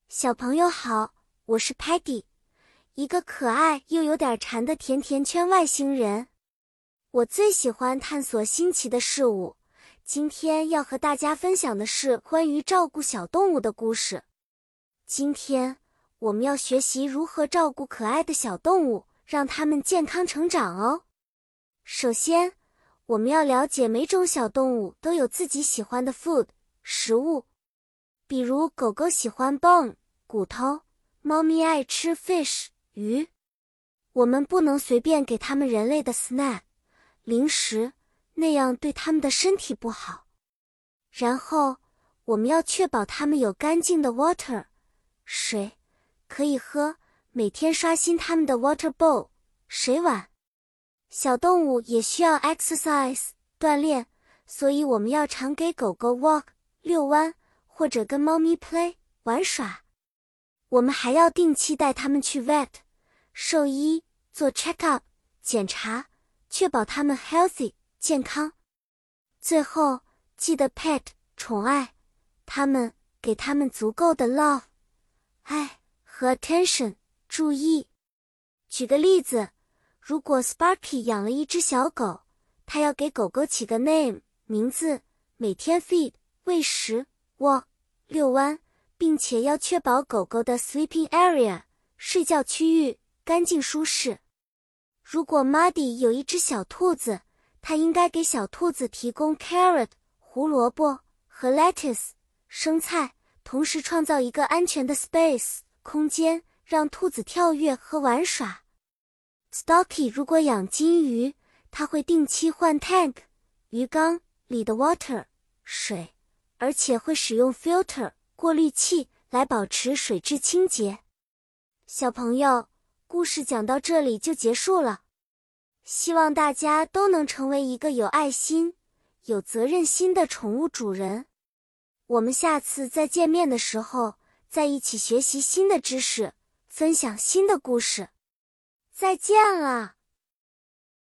小朋友好，我是 Patty， 一个可爱又有点馋的甜甜圈外星人。我最喜欢探索新奇的事物，今天要和大家分享的是关于照顾小动物的故事。今天我们要学习如何照顾可爱的小动物，让它们健康成长哦。首先，我们要了解每种小动物都有自己喜欢的 食物。比如狗狗喜欢 bone 骨头，猫咪爱吃 fish 鱼。我们不能随便给它们人类的 snack 零食，那样对它们的身体不好。然后我们要确保它们有干净的 water 水可以喝，每天刷新它们的 water bowl 水碗。小动物也需要 exercise 锻炼，所以我们要常给狗狗 walk 遛弯，或者跟猫咪 play 玩耍。我们还要定期带它们去 vet 兽医做 check up 检查，确保它们 healthy 健康。最后记得 pet 宠爱它们，给它们足够的 love 爱和 attention 注意。举个例子，如果 Sparky 养了一只小狗，他要给狗狗起个 name 名字，每天 feed 喂食walk 遛弯，并且要确保狗狗的 sleeping area 睡觉区域干净舒适。如果 Muddy 有一只小兔子，他应该给小兔子提供 carrot 胡萝卜和 lettuce 生菜，同时创造一个安全的 space 空间，让兔子跳跃和玩耍。Stocky 如果养金鱼，他会定期换 tank 鱼缸里的 water 水，而且会使用 filter 过滤器来保持水质清洁。小朋友，故事讲到这里就结束了。希望大家都能成为一个有爱心、有责任心的宠物主人。我们下次再见面的时候，再一起学习新的知识，分享新的故事。再见了。